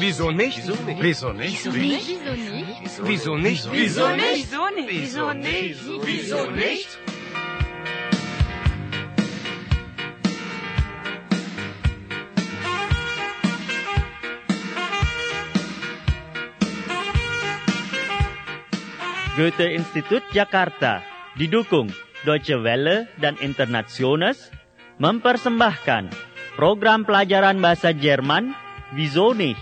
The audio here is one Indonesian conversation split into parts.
Wieso nicht? Wieso nicht? Wieso nicht? Wieso nicht? Wieso nicht? Wieso nicht? Goethe-Institut Jakarta didukung Deutsche Welle dan Internationals mempersembahkan program pelajaran bahasa Jerman Wieso nicht?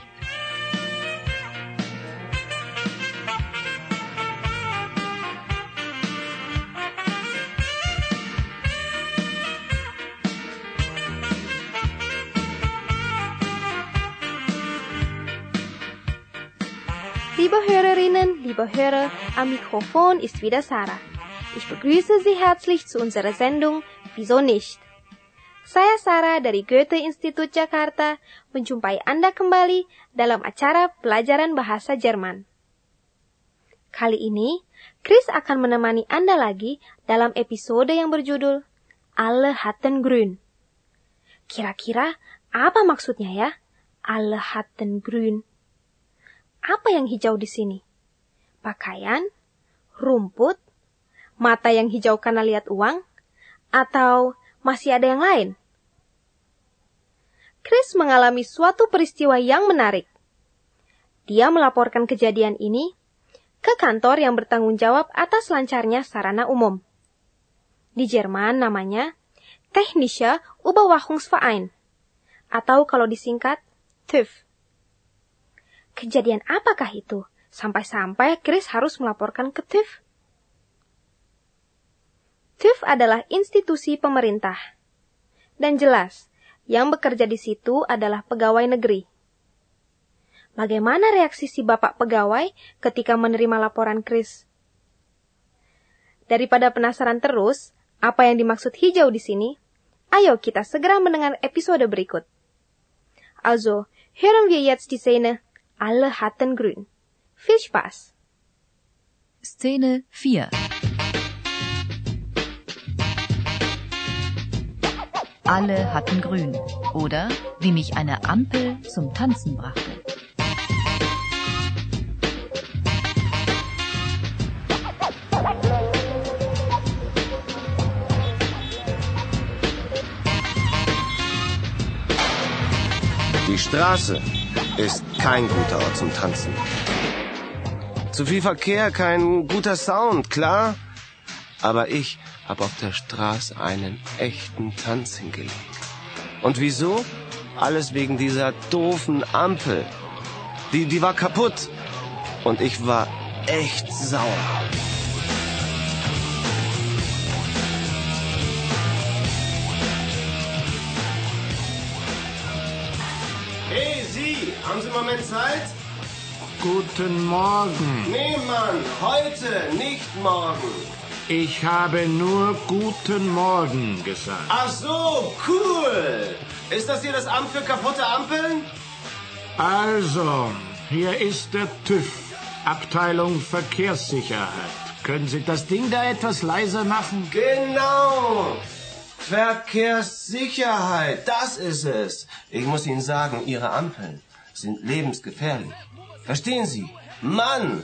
Liebe Hörerinnen, liebe Hörer, am Mikrofon ist wieder Sarah. Ich begrüße Sie herzlich zu unserer Sendung Wieso nicht? Saya Sarah dari Goethe-Institut Jakarta menjumpai Anda kembali dalam acara pelajaran bahasa Jerman. Kali ini, Chris akan menemani Anda lagi dalam episode yang berjudul Alle hatten grün. Kira-kira apa maksudnya ya? Alle hatten grün. Apa yang hijau di sini? Pakaian, rumput, mata yang hijau karena lihat uang, atau masih ada yang lain? Chris mengalami suatu peristiwa yang menarik. Dia melaporkan kejadian ini ke kantor yang bertanggung jawab atas lancarnya sarana umum. Di Jerman namanya Technische Überwachungsverein, atau kalau disingkat TÜV. Kejadian apakah itu? Sampai-sampai Chris harus melaporkan ke TÜV. TÜV adalah institusi pemerintah. Dan jelas, yang bekerja di situ adalah pegawai negeri. Bagaimana reaksi si bapak pegawai ketika menerima laporan Chris? Daripada penasaran terus, apa yang dimaksud hijau di sini? Ayo kita segera mendengar episode berikut. Also, hören wir jetzt die Szene Alle hatten grün. Viel Spaß! Szene 4. Alle hatten grün. Oder wie mich eine Ampel zum Tanzen brachte. Die Straße ist kein guter Ort zum Tanzen. Zu viel Verkehr, kein guter Sound, klar? Aber ich habe auf der Straße einen echten Tanz hingelegt. Und wieso? Alles wegen dieser doofen Ampel. Die war kaputt. Und ich war echt sauer. Hey, Sie, haben Sie einen Moment Zeit? Guten Morgen. Nee, Mann, heute, nicht morgen. Ich habe nur guten Morgen gesagt. Ach so, cool. Ist das hier das Amt für kaputte Ampeln? Also, hier ist der TÜV, Abteilung Verkehrssicherheit. Können Sie das Ding da etwas leiser machen? Genau. Verkehrssicherheit, das ist es. Ich muss Ihnen sagen, Ihre Ampeln sind lebensgefährlich. Verstehen Sie? Mann,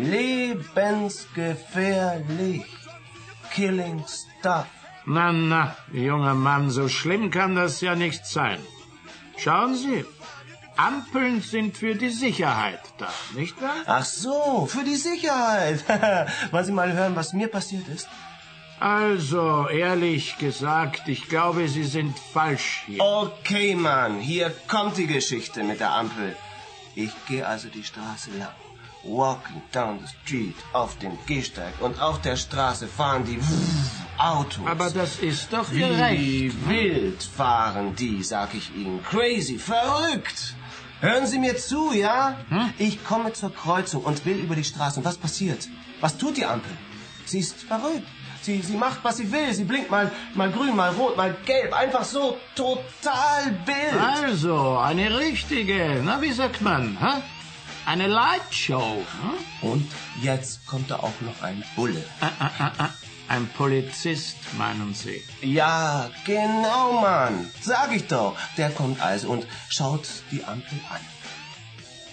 lebensgefährlich. Killing stuff. Na, junger Mann, so schlimm kann das ja nicht sein. Schauen Sie, Ampeln sind für die Sicherheit da, nicht wahr? Ach so, für die Sicherheit. Wollen Sie mal hören, was mir passiert ist? Also, ehrlich gesagt, ich glaube, Sie sind falsch hier. Okay, Mann, hier kommt die Geschichte mit der Ampel. Ich gehe also die Straße lang. Walking down the street auf dem Gehsteig und auf der Straße fahren die Autos. Aber das ist doch Wie gerecht. wild fahren die, sag ich Ihnen. Crazy, verrückt. Hören Sie mir zu, ja? Ich komme zur Kreuzung und will über die Straße. Und was passiert? Was tut die Ampel? Sie ist verrückt. Sie macht, was sie will. Sie blinkt mal grün, mal rot, mal gelb. Einfach so total wild. Also, eine richtige, na wie sagt man, hä? Eine Lightshow. Hm? Und jetzt kommt da auch noch ein Bulle. Ein Polizist, meinen Sie? Ja, genau, Mann. Sag ich doch. Der kommt also und schaut die Ampel an.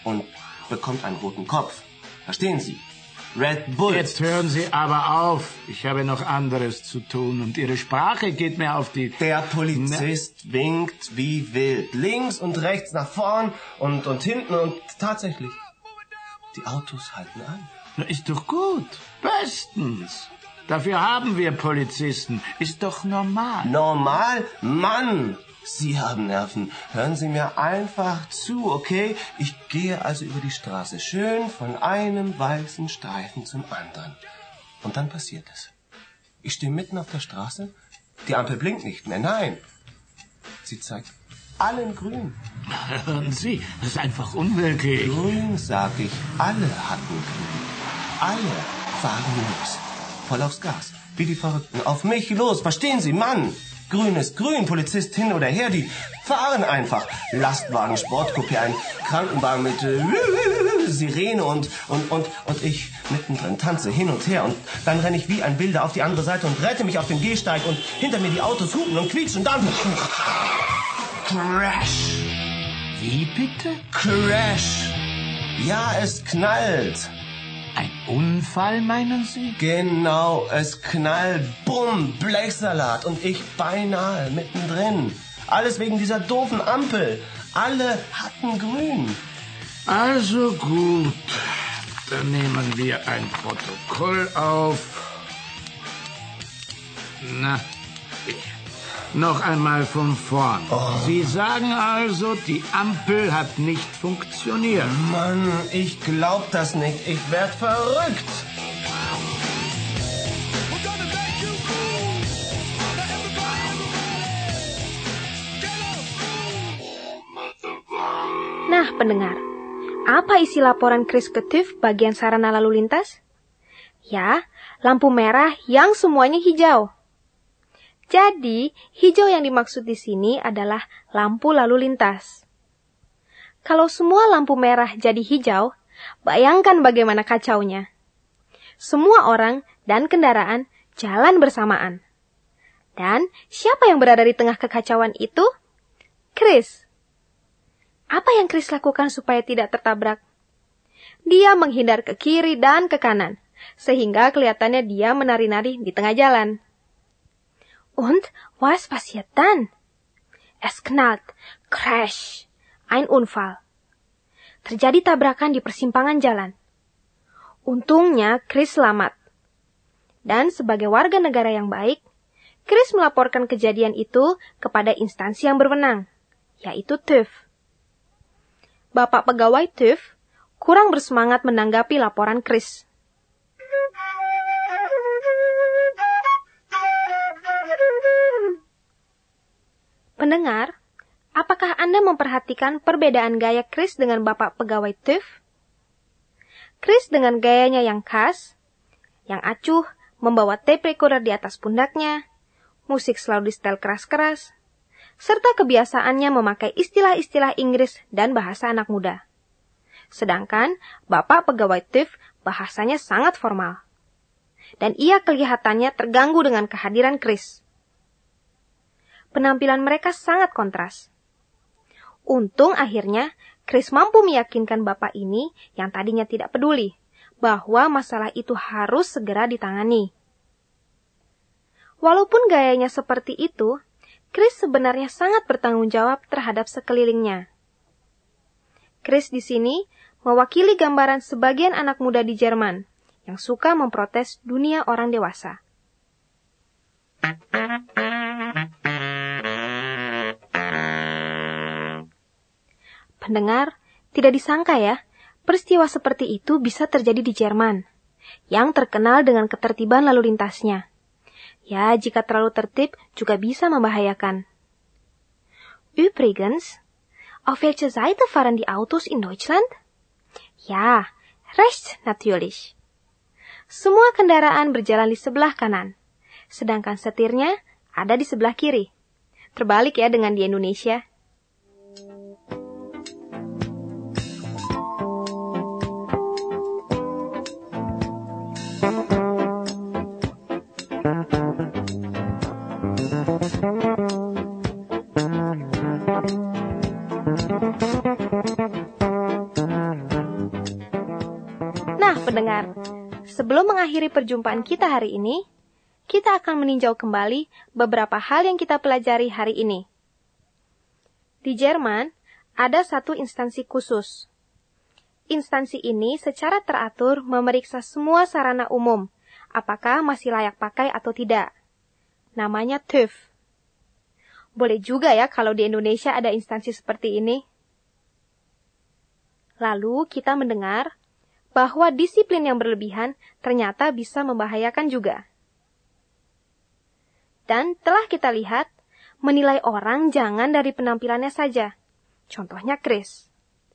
und bekommt einen roten Kopf. Verstehen Sie? Red Bull. Jetzt hören Sie aber auf. Ich habe noch anderes zu tun und Ihre Sprache geht mir auf die... Der Polizist winkt wie wild. Links und rechts, nach vorn und hinten und tatsächlich, die Autos halten an. Na, ist doch gut. Bestens. Dafür haben wir Polizisten. Ist doch normal. Normal? Mann! Sie haben Nerven. Hören Sie mir einfach zu, okay? Ich gehe also über die Straße, schön von einem weißen Streifen zum anderen. Und dann passiert es. Ich stehe mitten auf der Straße. Die Ampel blinkt nicht mehr, nein. Sie zeigt allen grün. Hören Sie, das ist einfach unwirklich. Grün, sag ich. Alle hatten grün. Alle fahren los. Voll aufs Gas. Wie die Verrückten. Auf mich los. Verstehen Sie, Mann? Grün ist grün. Polizist hin oder her. Die fahren einfach. Lastwagen, Sportcoupé, ein Krankenwagen mit Sirene und ich mittendrin tanze hin und her. Und dann renne ich wie ein Wilder auf die andere Seite und rette mich auf dem Gehsteig. Und hinter mir die Autos hupen und quietschen. Und dann... Crash. Wie bitte? Crash. Ja, es knallt. Ein Unfall, meinen Sie? Genau, es knallt, bumm, Blechsalat und ich beinahe mittendrin. Alles wegen dieser doofen Ampel. Alle hatten grün. Also gut, dann nehmen wir ein Protokoll auf. Na, noch einmal von vorn. Sie sagen also, die Ampel hat nicht funktioniert. Mann, ich glaub das nicht. Ich werd verrückt. Nah, pendengar, apa isi laporan Chris ke TÜV bagian sarana lalu lintas? Ya, lampu merah yang semuanya hijau. Jadi, hijau yang dimaksud di sini adalah lampu lalu lintas. Kalau semua lampu merah jadi hijau, bayangkan bagaimana kacaunya. Semua orang dan kendaraan jalan bersamaan. Dan siapa yang berada di tengah kekacauan itu? Chris. Apa yang Chris lakukan supaya tidak tertabrak? Dia menghindar ke kiri dan ke kanan, sehingga kelihatannya dia menari-nari di tengah jalan. Und was passiert dann? Es knallt, crash, ein Unfall. Terjadi tabrakan di persimpangan jalan. Untungnya Chris selamat. Dan sebagai warga negara yang baik, Chris melaporkan kejadian itu kepada instansi yang berwenang, yaitu TÜV. Bapak pegawai TÜV kurang bersemangat menanggapi laporan Chris. Pendengar, apakah Anda memperhatikan perbedaan gaya Chris dengan Bapak pegawai TÜV? Chris dengan gayanya yang khas, yang acuh, membawa tape recorder di atas pundaknya, musik selalu disetel keras-keras, serta kebiasaannya memakai istilah-istilah Inggris dan bahasa anak muda. Sedangkan Bapak pegawai TÜV bahasanya sangat formal. Dan ia kelihatannya terganggu dengan kehadiran Chris. Penampilan mereka sangat kontras. Untung akhirnya Chris mampu meyakinkan bapak ini yang tadinya tidak peduli bahwa masalah itu harus segera ditangani. Walaupun gayanya seperti itu, Chris sebenarnya sangat bertanggung jawab terhadap sekelilingnya. Chris di sini mewakili gambaran sebagian anak muda di Jerman yang suka memprotes dunia orang dewasa. Pendengar, tidak disangka ya, peristiwa seperti itu bisa terjadi di Jerman, yang terkenal dengan ketertiban lalu lintasnya. Ya, jika terlalu tertib juga bisa membahayakan. Übrigens, auf welche Seite fahren die Autos in Deutschland? Ja, rechts natürlich. Semua kendaraan berjalan di sebelah kanan, sedangkan setirnya ada di sebelah kiri. Terbalik ya dengan di Indonesia. pendengar, sebelum mengakhiri perjumpaan kita hari ini, kita akan meninjau kembali beberapa hal yang kita pelajari hari ini. Di Jerman, ada satu instansi khusus. Instansi ini secara teratur memeriksa semua sarana umum, apakah masih layak pakai atau tidak. Namanya TÜV. Boleh juga ya kalau di Indonesia ada instansi seperti ini. Lalu kita mendengar bahwa disiplin yang berlebihan ternyata bisa membahayakan juga. Dan telah kita lihat, menilai orang jangan dari penampilannya saja. Contohnya Chris.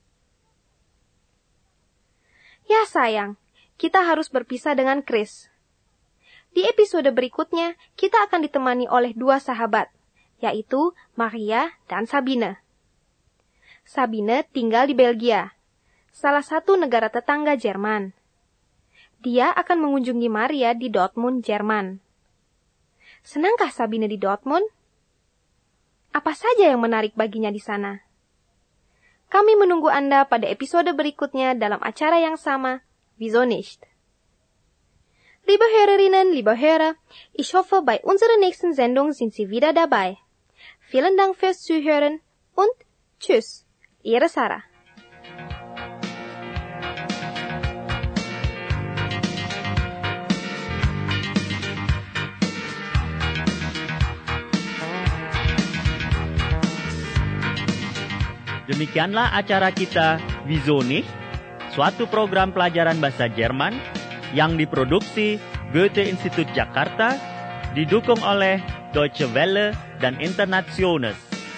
Ya sayang, kita harus berpisah dengan Chris. Di episode berikutnya, kita akan ditemani oleh dua sahabat, yaitu Maria dan Sabine. Sabine tinggal di Belgia, salah satu negara tetangga Jerman. Dia akan mengunjungi Maria di Dortmund, Jerman. Senangkah Sabine di Dortmund? Apa saja yang menarik baginya di sana? Kami menunggu Anda pada episode berikutnya dalam acara yang sama, Wieso nicht? Liebe Hörerinnen, liebe Hörer, ich hoffe, bei unserer nächsten Sendung sind Sie wieder dabei. Vielen Dank fürs Zuhören und tschüss, Ihre Sarah. Demikianlah acara kita Wieso nicht? Suatu program pelajaran bahasa Jerman yang diproduksi Goethe-Institut Jakarta, didukung oleh Deutsche Welle dan Internationals.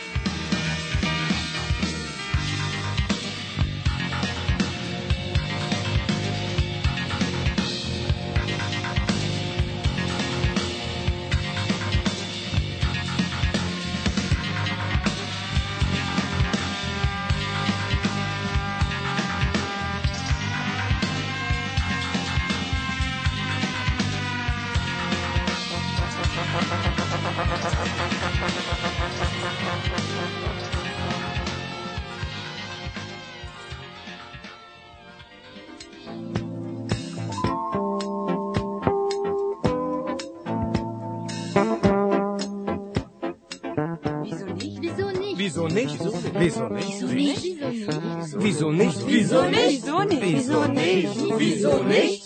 Wieso nicht? Wieso nicht? Wieso nicht? Wieso nicht? Wieso nicht? Wieso nicht? Wieso nicht?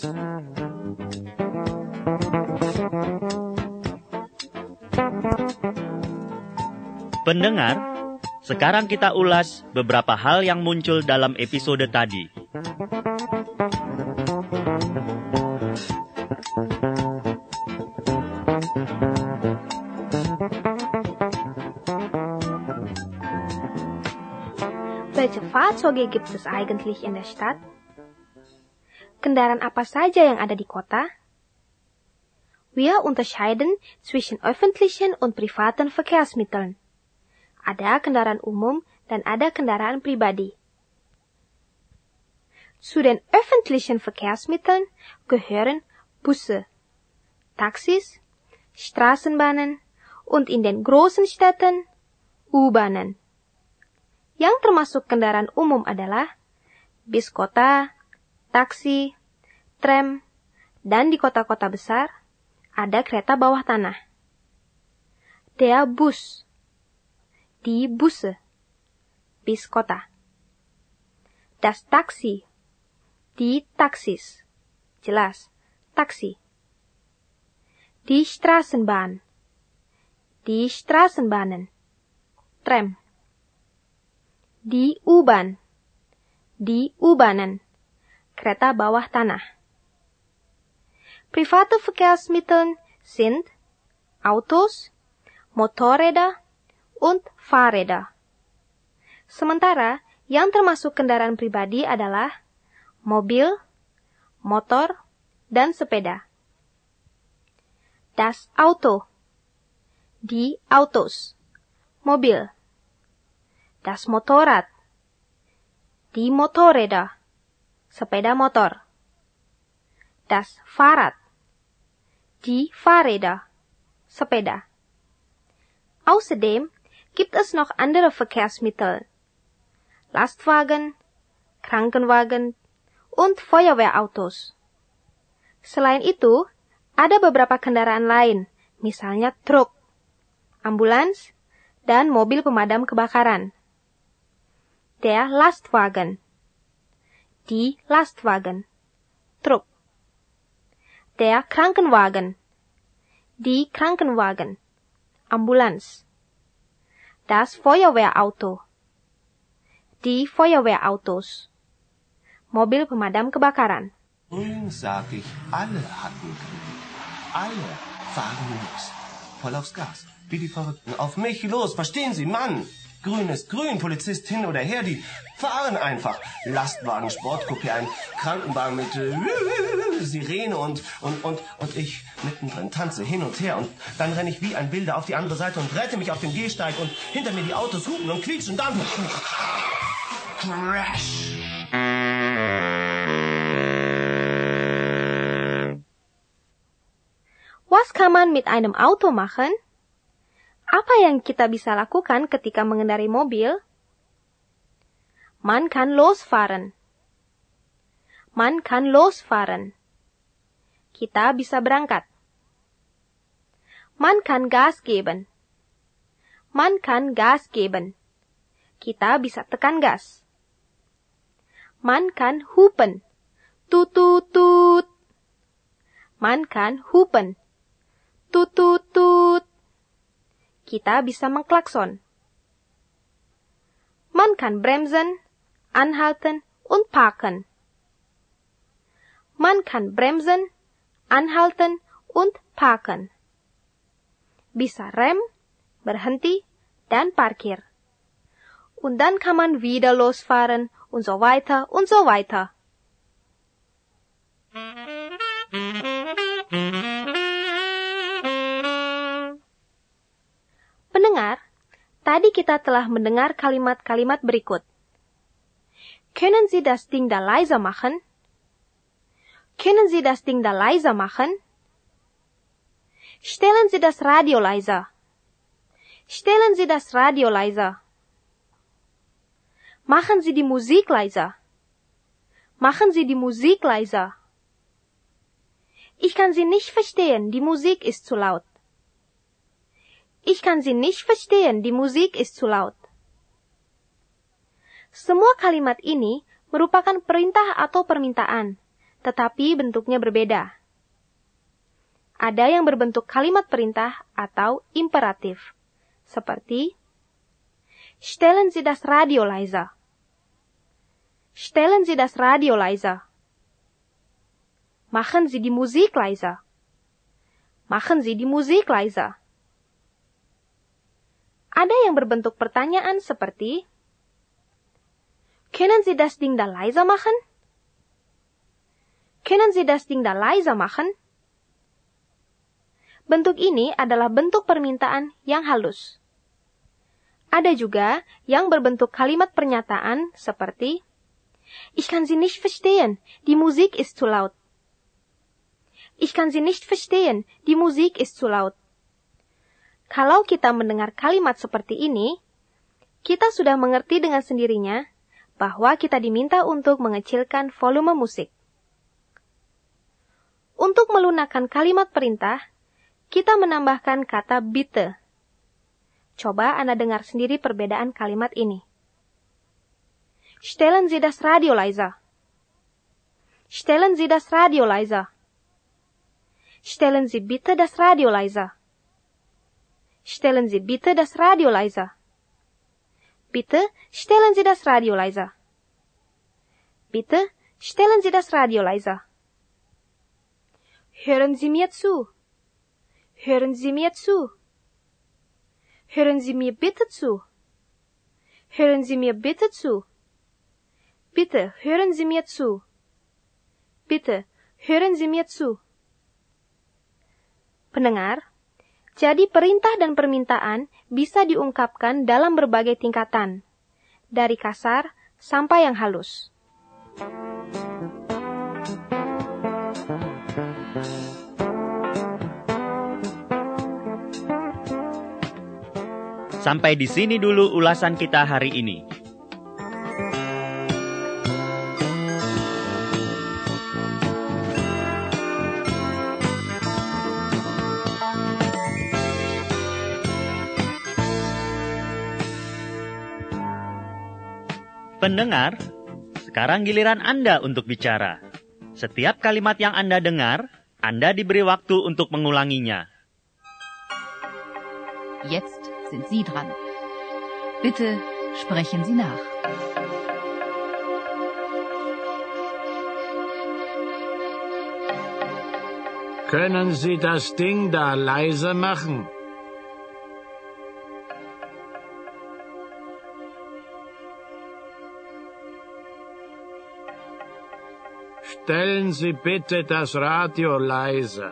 Pendengar, sekarang kita ulas beberapa hal yang muncul dalam episode tadi. Welche Fahrzeuge gibt es eigentlich in der Stadt? Kendaraan apa saja yang ada di kota? Wir unterscheiden zwischen öffentlichen und privaten Verkehrsmitteln. Ada kendaraan umum dan ada kendaraan pribadi. Zu den öffentlichen Verkehrsmitteln gehören Busse, Taxis, Straßenbahnen und in den großen Städten U-Bahnen. Yang termasuk kendaraan umum adalah bis kota, taksi, tram, dan di kota-kota besar ada kereta bawah tanah. Der Bus, die Busse, bis kota. Das Taxi, die Taxis, jelas, taksi. Die Straßenbahn, die Straßenbahnen, tram. Die U-Bahn, die U-Bahnen, kereta bawah tanah. Private Verkehrsmittel sind Autos, Motorräder und Fahrräder. Sementara yang termasuk kendaraan pribadi adalah mobil, motor, dan sepeda. Das Auto, die Autos, mobil. Das Motorrad, die Motorräder, sepeda motor. Das Fahrrad, die Fahrräder, sepeda. Außerdem gibt es noch andere Verkehrsmittel. Lastwagen, Krankenwagen und Feuerwehrautos. Selain itu, ada beberapa kendaraan lain, misalnya truk, ambulans, dan mobil pemadam kebakaran. Der Lastwagen. Die Lastwagen. Truk. Der Krankenwagen. Die Krankenwagen. Ambulans. Das Feuerwehrauto. Die Feuerwehrautos. Mobil pemadam kebakaran. Grün, sag ich, alle hatten grün. Alle fahren los. Voll aufs Gas. Wie die Verrückten. Auf mich los, verstehen Sie, Mann! Grün ist grün, Polizist hin oder her, die fahren einfach. Lastwagen, Sportcoupé, ein Krankenwagen mit Sirene und ich mittendrin tanze hin und her und dann renne ich wie ein Wilder auf die andere Seite und rette mich auf dem Gehsteig und hinter mir die Autos hupen und quietschen und dann Crash! Was kann man mit einem Auto machen? Apa yang kita bisa lakukan ketika mengendarai mobil? Man kann losfahren. Man kann losfahren. Kita bisa berangkat. Man kann Gas geben. Man kann Gas geben. Kita bisa tekan gas. Man kann hupen. Tut tut tut. Man kann hupen. Tut tut tut. Kita bisa mengklakson. Man kann bremsen, anhalten und parken. Man kann bremsen, anhalten und parken. Bisa rem, berhenti, dan parkir. Und dann kann man wieder losfahren und so weiter und so weiter. Pendengar, tadi kita telah mendengar kalimat-kalimat berikut. Können Sie das Ding da leiser machen? Können Sie das Ding da leiser machen? Stellen Sie das Radio leiser. Stellen Sie das Radio leiser. Machen Sie die Musik leiser. Machen Sie die Musik leiser. Ich kann Sie nicht verstehen, die Musik ist zu laut. Ich kann Sie nicht verstehen, die Musik ist zu laut. Semua kalimat ini merupakan perintah atau permintaan, tetapi bentuknya berbeda. Ada yang berbentuk kalimat perintah atau imperatif, seperti Stellen Sie das Radio leiser. Stellen Sie das Radio leiser. Machen Sie die Musik leiser. Machen Sie die Musik leiser. Ada yang berbentuk pertanyaan seperti Können Sie das Ding da leiser machen? Können Sie das Ding da leiser machen? Bentuk ini adalah bentuk permintaan yang halus. Ada juga yang berbentuk kalimat pernyataan seperti Ich kann Sie nicht verstehen, die Musik ist zu laut. Ich kann Sie nicht verstehen, die Musik ist zu laut. Kalau kita mendengar kalimat seperti ini, kita sudah mengerti dengan sendirinya bahwa kita diminta untuk mengecilkan volume musik. Untuk melunakkan kalimat perintah, kita menambahkan kata bitte. Coba Anda dengar sendiri perbedaan kalimat ini. Stellen Sie das Radio leiser. Stellen Sie das Radio leiser. Stellen Sie bitte das Radio leiser. Stellen Sie bitte das Radio leiser. Bitte stellen Sie das Radio leiser. Bitte stellen Sie das Radio leiser. Hören Sie mir zu. Hören Sie mir zu. Hören Sie mir bitte zu. Hören Sie mir bitte zu. Bitte hören Sie mir zu. Bitte hören Sie mir zu. Pendengar, jadi perintah dan permintaan bisa diungkapkan dalam berbagai tingkatan, dari kasar sampai yang halus. Sampai di sini dulu ulasan kita hari ini. pendengar, sekarang giliran Anda untuk bicara. Setiap kalimat yang Anda dengar, Anda diberi waktu untuk mengulanginya. Jetzt sind Sie dran. Bitte sprechen Sie nach. Können Sie das Ding da leise machen? Stellen Sie bitte das Radio leise.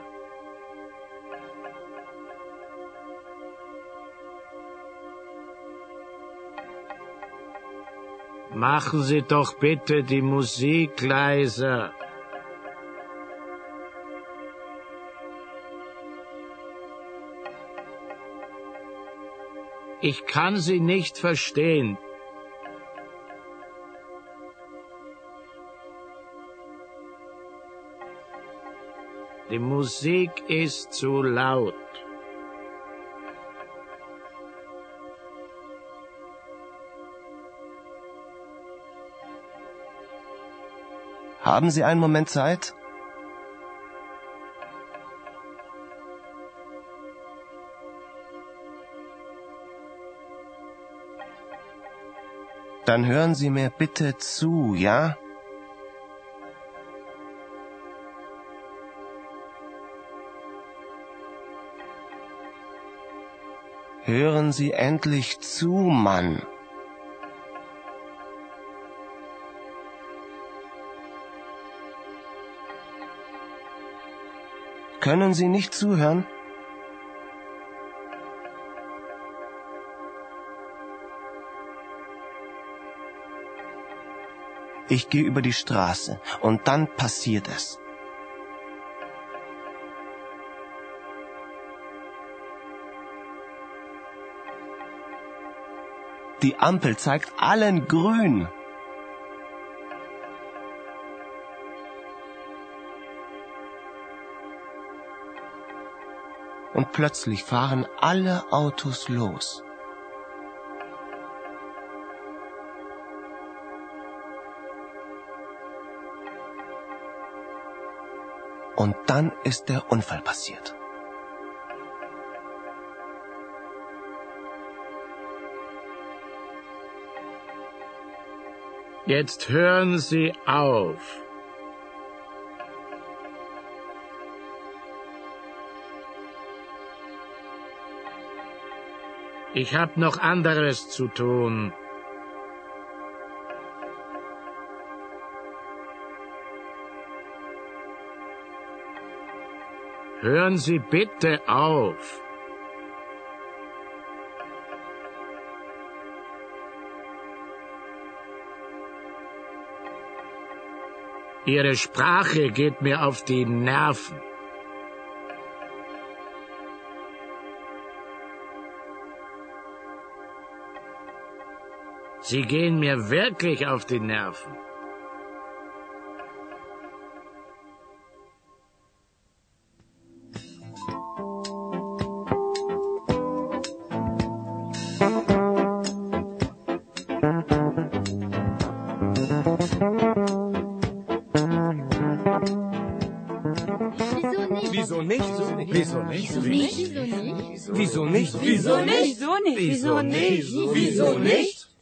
Machen Sie doch bitte die Musik leiser. Ich kann Sie nicht verstehen. Die Musik ist zu laut. Haben Sie einen Moment Zeit? Dann hören Sie mir bitte zu, ja? Hören Sie endlich zu, Mann. Können Sie nicht zuhören? Ich gehe über die Straße und dann passiert es. Die Ampel zeigt allen grün. Und plötzlich fahren alle Autos los. Und dann ist der Unfall passiert. Jetzt hören Sie auf. Ich hab noch anderes zu tun. Hören Sie bitte auf. Ihre Sprache geht mir auf die Nerven. Sie gehen mir wirklich auf die Nerven. Wieso nicht? Wieso nicht? Wieso nicht? Wieso nicht? Wieso nicht? Wieso nicht? Wieso nicht? Wieso nicht?